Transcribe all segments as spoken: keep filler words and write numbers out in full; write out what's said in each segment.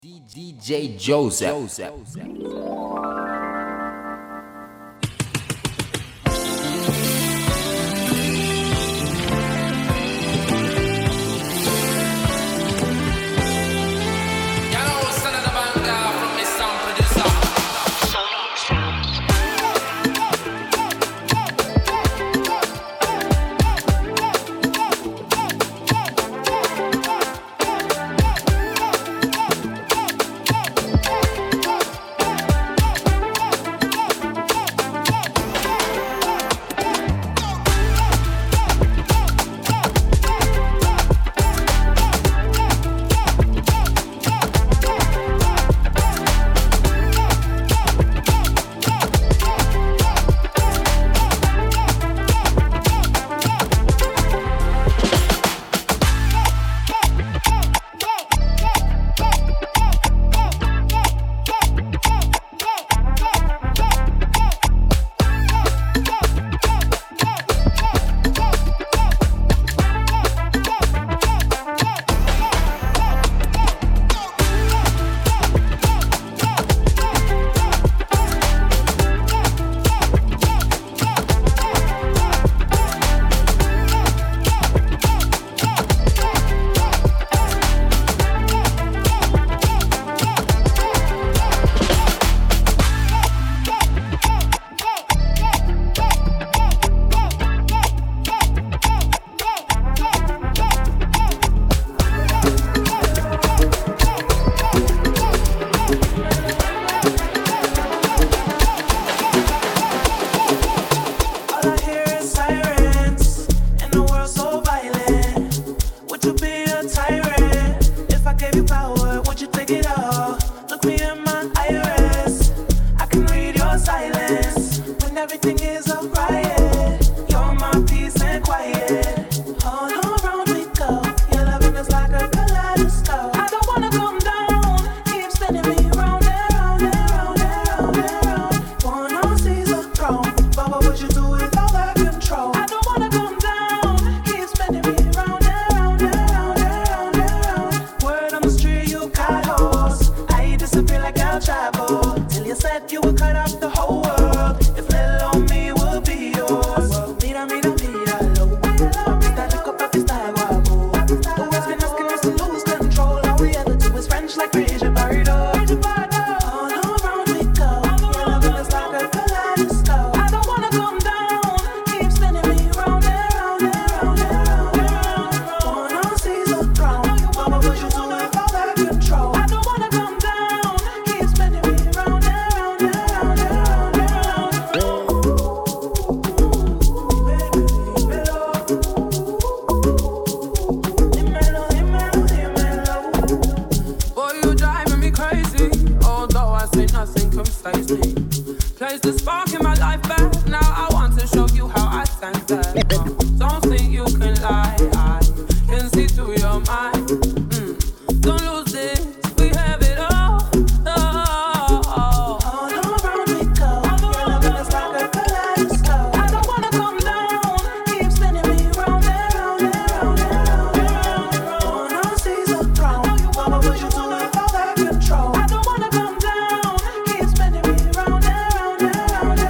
D J Joseph. I don't wanna come down, keep spinning me round and round and round.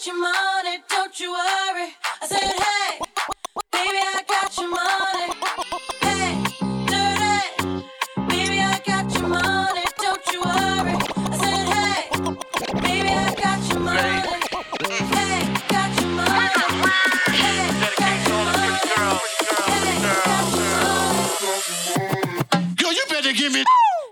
your money, don't you worry. I said, hey, baby, I got your money. Hey, dirty, baby, I got your money, don't you worry. I said, hey, baby, I got your money. Hey, got your money. Hey, got your money. Hey, got your money. Girl, you better give me.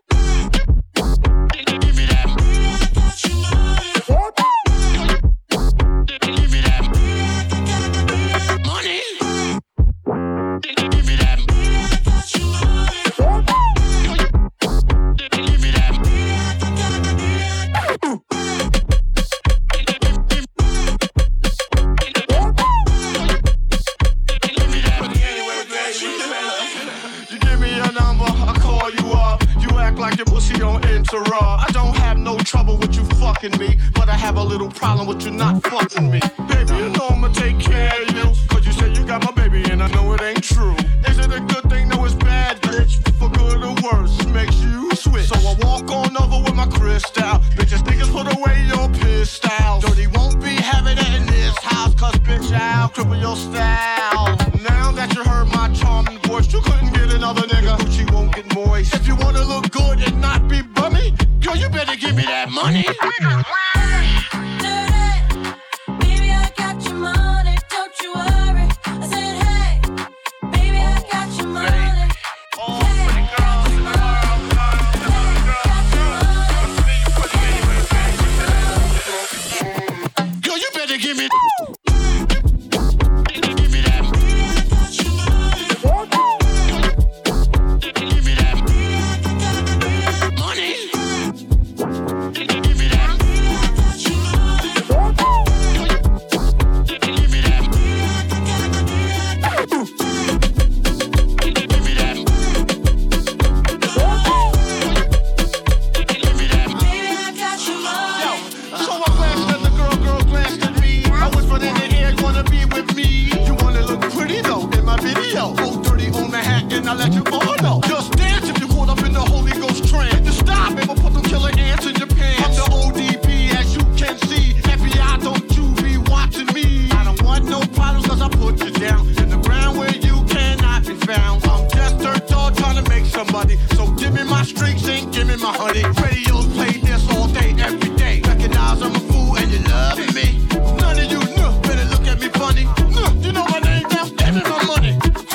I don't have no trouble with you fucking me, but I have a little problem with you not fucking me. Baby, you know I'ma take care of you, cause you say you got my baby and I know it ain't true. Is it a good thing? No, it's bad, bitch. For good or worse, makes you switch. So I walk on over with my crystal. Bitches, niggas, put away your pistol. Dirty won't be having it in this house, cause bitch, I'll cripple your style. Now that you heard my charming voice, you couldn't get another nigga. Gucci won't get moist. If you wanna look good and not be bummy, girl, you better give me that money. Baby, I got your money, don't you worry. I said, hey, baby, I got your money. Oh, pretty girls, girl, girl. Girl, you better give me. I let you all know. Just dance if you're caught up in the Holy Ghost trance. Just stop, baby, put them killer ants in your pants. I'm the O D P, as you can see. F B I, don't you be watching me. I don't want no problems, cause I put you down in the ground where you cannot be found. I'm just dirt dog trying to make some money. So give me my streaks and give me my honey. Radios play this all day, every day. Recognize I'm a fool and you're loving me. None of you know, better look at me funny. No, you know my name now, give me my money.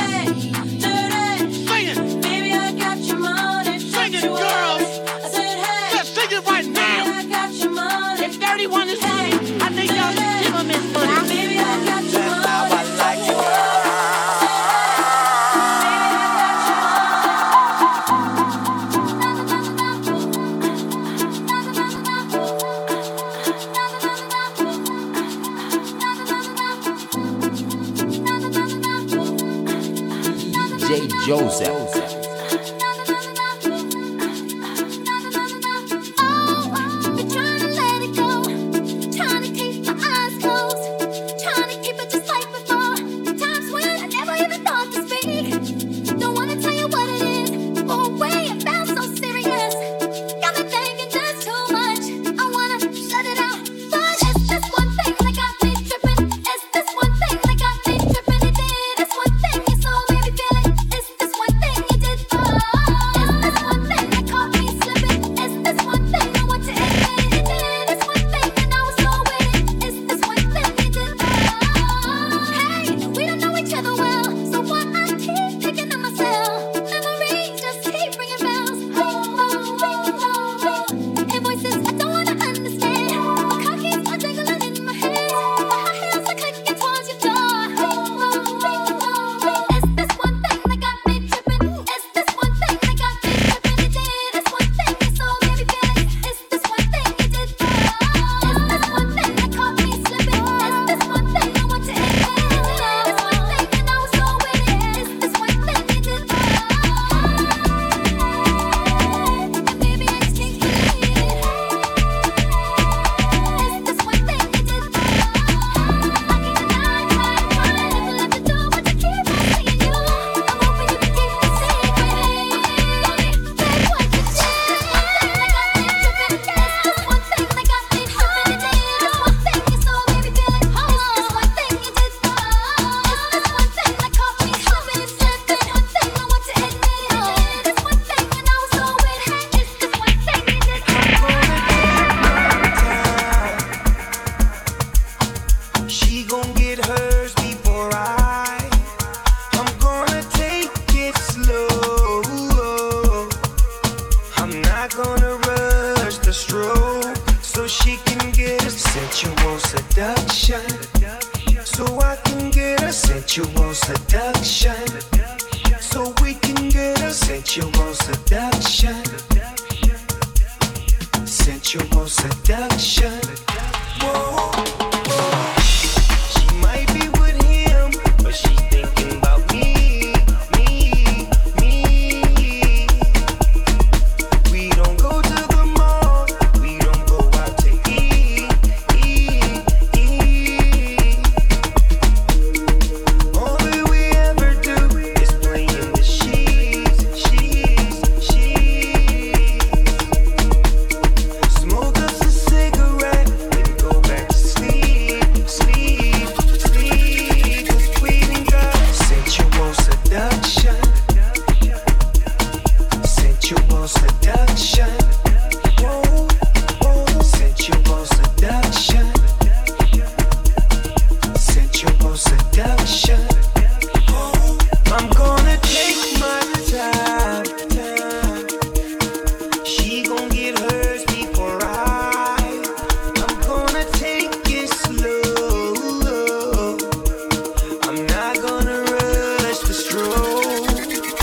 J Joseph. It's this one thing She gon' get hers before I. I'm gonna take it slow. I'm not gonna rush the stroke, so she can get a sensual seduction. So I can get a sensual seduction. So we can get a sensual seduction. Sensual seduction. Whoa, whoa. She might be with him, but she's thinking about me, me, me. We don't go to the mall, we don't go out to eat, eat, eat. All that we ever do is play in the sheets, sheets, sheets. Smoke us a cigarette, then go back to sleep, sleep, sleep. 'Cause we done got sensual seduction, sensual seduction. Whoa, whoa, sensual seduction, sensual seduction. Whoa. I'm gonna take my time, time. She gon' get hers before I. I'm gonna take it slow. I'm not gonna rush the stroke.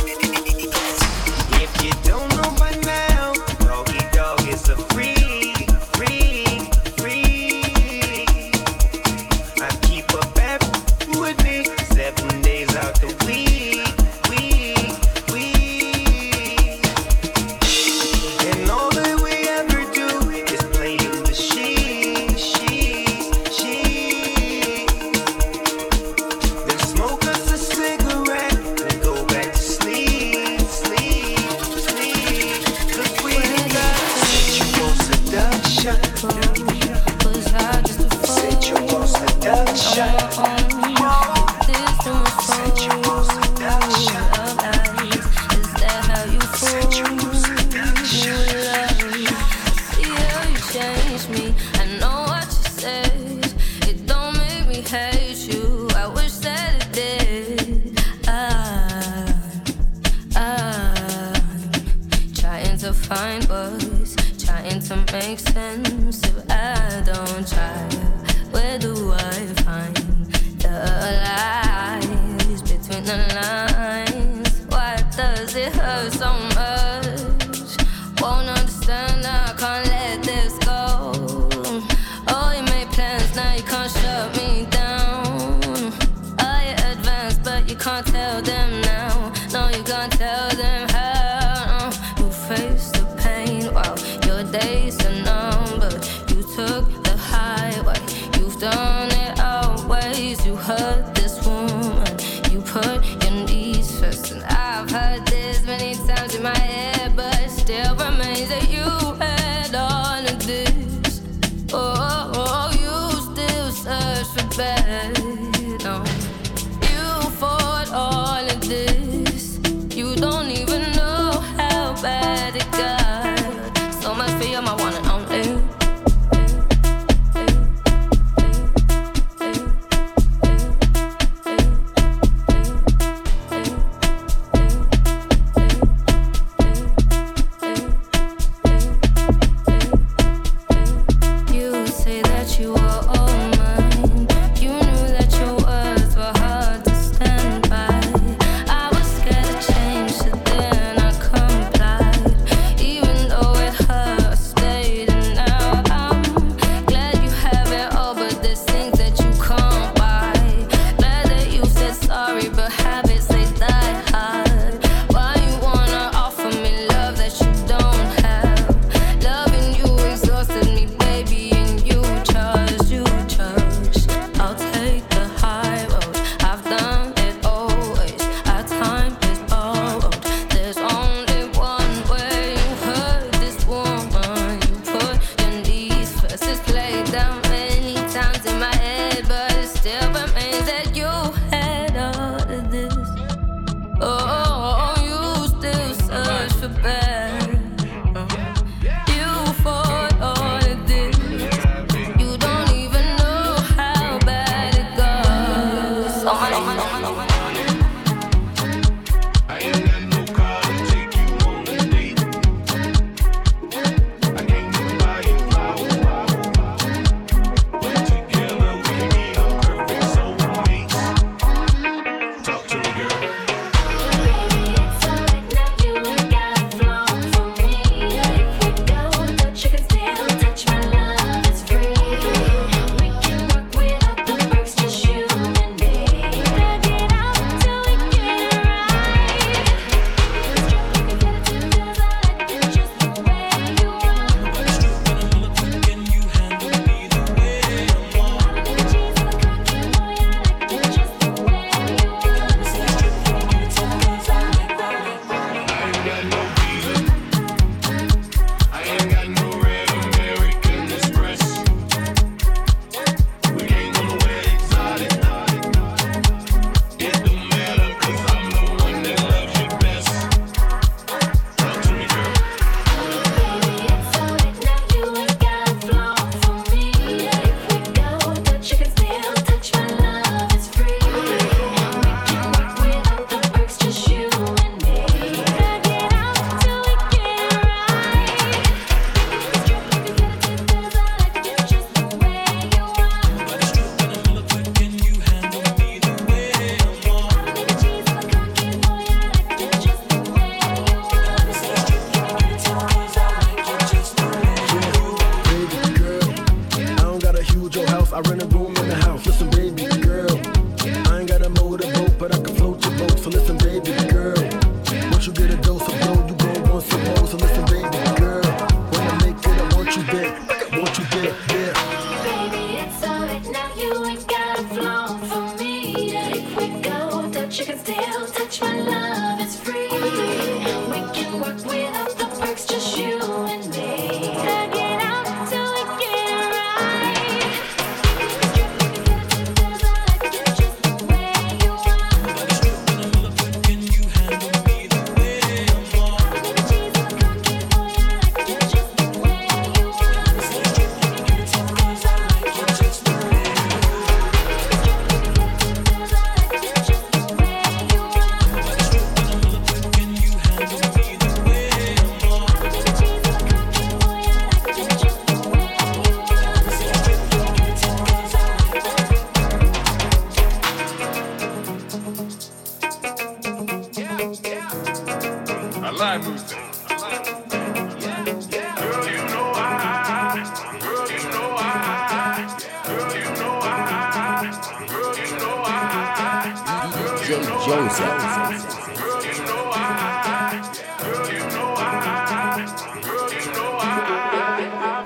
If you don't know by now, Doggy Dog is a freak, freak, freak. I keep a bad with me seven days out the week, week, week. And all that we ever do is play in the sheets, sheets, sheets. Then smoke us a cigarette, then go back to sleep, sleep, sleep. 'Cause we got sensual seduction, sensual seduction, sensual seduction, sensual seduction. Find words, trying to make sense. If I don't try, where do I find the lies between the lines? Why does it hurt so much? Won't understand, I can't let this go. Oh, you made plans, now you can't shut me down. Oh, you advanced, but you can't tell them now. No, you can't tell them how. You face the pain while your days are numbered. You took the highway, you've done it always. You hurt this woman, you put your needs first. And I've heard this many times in my head, but it still remains that you had all of this. Oh, oh, you still search for better. No, you fought all of this. You don't even know how bad it got. So much for you, my one and only. You say that you were all mine. You knew that flown for me. If we go, touch, you can still touch my love. It's free. We can work without the perks, just you and me. Tug it out till we get it right. Strip, you can get it to the like it just the way you want. Strip when I'm looking, can you handle me the way I'm on? Baby, cheese on the cocky boy, I like it just the way you want. Strip, you can get it to the cause I like it just the way you want. Strip, you can get it to the like it just the way you want. Strip when I'm looking, can you handle me the way I'm on? Baby, cheese on the cocky boy, I like it just the way you want. Strip, you can get it to the cause I like it. I like music. Girl, you know I, girl, you know I, girl, you know I, girl, you know I, D J Joseph. girl, you know I, girl, you know I, girl, you know I.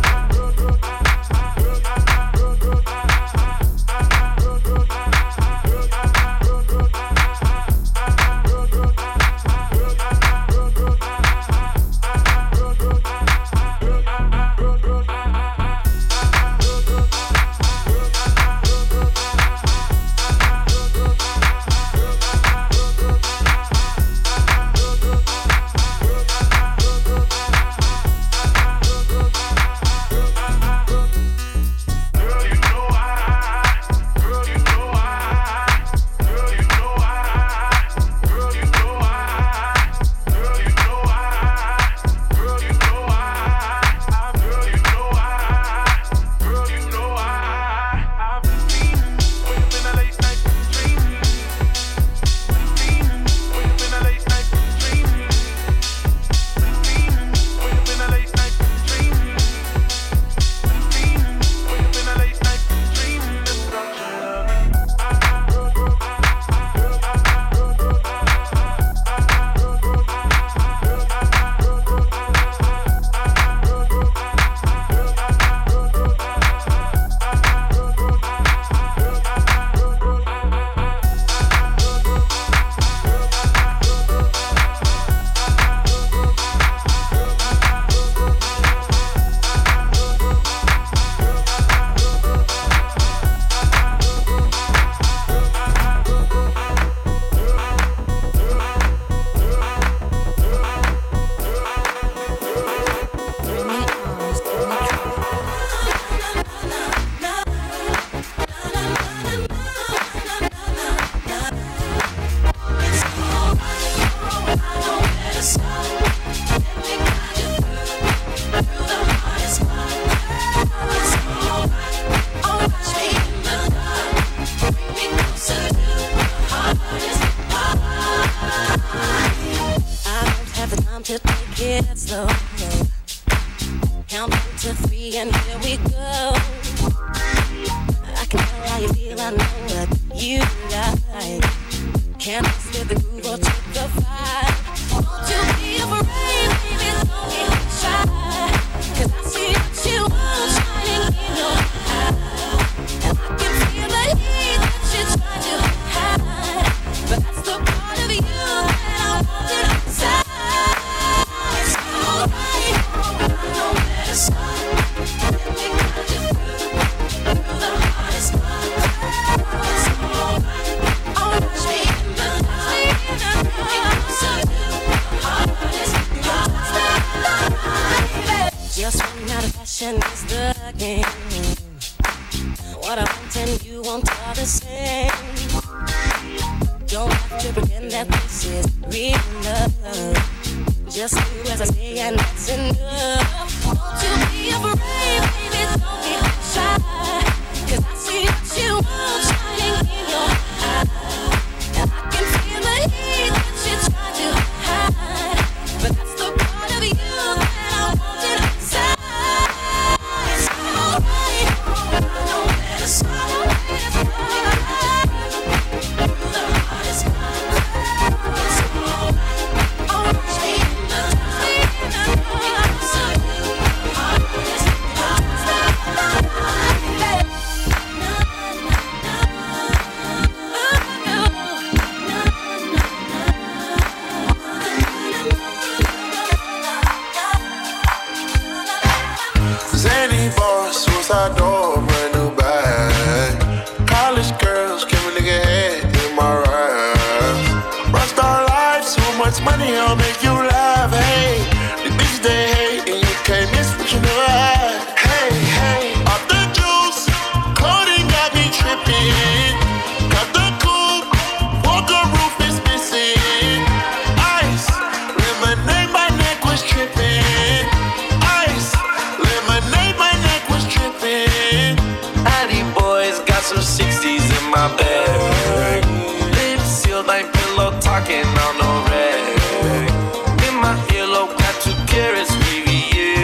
Girl, you know I, girl, you know I, girl, you know I, girl, you know I, girl, you know I, girl, you know I, girl, you know I, girl, you know I. I've been dreaming, wake up in a late night, dreaming, dreaming, wake up in a late night, dreaming, dreaming, wake up in a late night, dreaming. Wake up in a late night, dreaming about your love. I don't have the time to take it slow. No. Count one to three and here we go. I can tell how you feel, I know what you like. Can't mess with the groove or take the vibe. Won't you be afraid, baby, don't get shy. 'Cause I see what you want shining in your eyes. And I can feel the heat that you're trying to hide. But that's the part of you that I want it inside. It's alright, no matter what. We got you through, through the hardest part. It's alright, alright, stay in the light. Get closer to the hardest part. Just run out of fashion is the game. What I want and you want are the same. Don't have to pretend that this is real love. Just do as I say and that's enough. Won't you be afraid, baby, don't get shy. 'Cause I see what you want shining in your eyes. And I can feel the heat that you're trying to hide. But that's the part of you that I want it inside. It's alright, no matter what. Through the hardest part. It's alright, alright, stay in the dark. Get closer to the hardest part. tripping. Got the coupe, Walker roof is missing. Ice, lemonade, my neck was tripping. Ice, lemonade, my neck was tripping. Addy boys got some sixties in my bag. Lips sealed, ain't pillow talking on no rag. In my earlobe, got two carrots, V V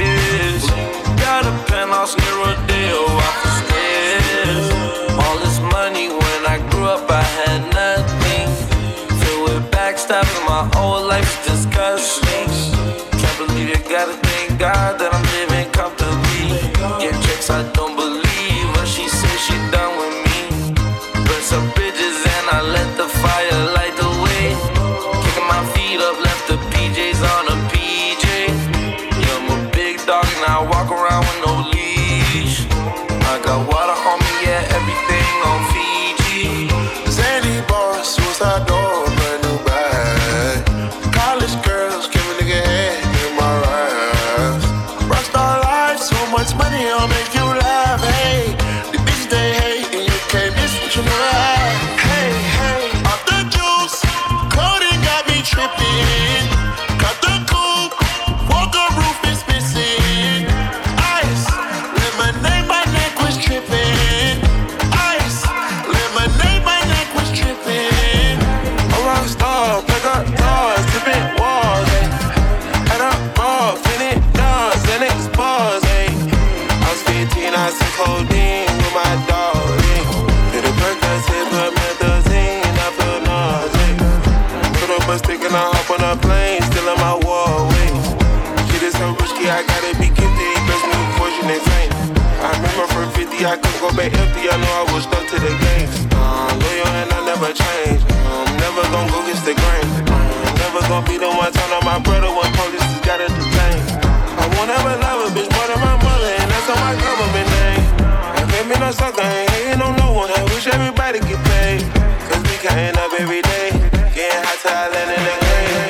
S. Got a penthouse near Rodeo off the stairs. All this money when I grew up, I had nothing. Filled with backstabbing, my whole life's disgusting. Can't believe you gotta thank God that I'm living comfortably. Get checks, I don't believe, but she said she done with me. Burn some bridges and I let the fire light the way. Kicking my feet up, left the P Js on a P J. Yeah, I'm a big dog and I walk around with no leash. I got water on me, yeah, everything on Fiji. Zandy bar, suicide door, brand new bag. College girls, give a nigga head in my raps. Rockstar life, so much money, I'll make you laugh. Hey, the bitches they hate, and you can't miss what you never had. Hey, hey, off the juice, coding got me tripping. Got the coupe, Walker roof is missing. Ice, lemonade, my neck was tripping. Ice, lemonade, my neck was tripping. A rock star, pick up doors, tipping walls, ayy. Head up, ball, finish guns, and expose, ayy. I was fifteen, I took codeine with my dog, ayy. Did a Percocet, put methazine, I feel nauseous. Put up a stick and I hop on a plane, still in my wall, ayy. Shit is so risky, I gotta be gifted, best me fortune and fame. I remember for fifty, I couldn't go back empty, I know I was stuck to the game. Uh, loyal and I never change. I'm never gonna go against the grain. I'm never gonna be the one turn on my brother when police just gotta detain. I won't ever love a bitch more than my mother, and that's on my government name. I can't be no sucker, ain't hating on no one. I wish everybody get paid, cause we counting up every day. Getting hot till I land in the grave.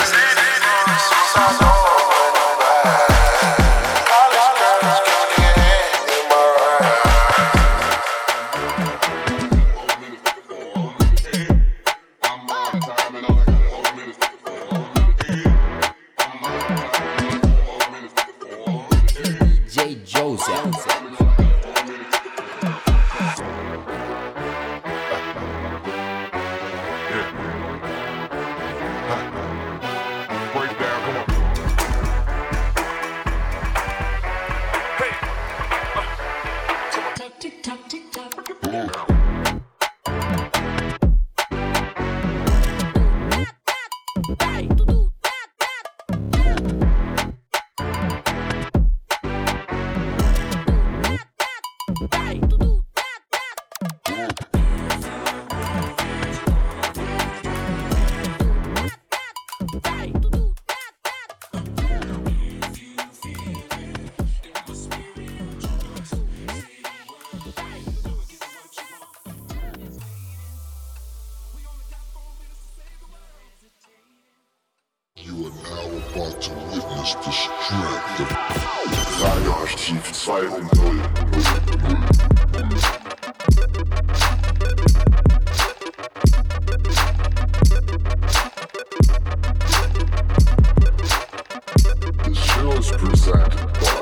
Suicide door, college girls, give a nigga head in my J Joseph. Tick tock, tick tock. You are now about to witness the strength of Radioaktiv zwei Punkt null. The show is presented by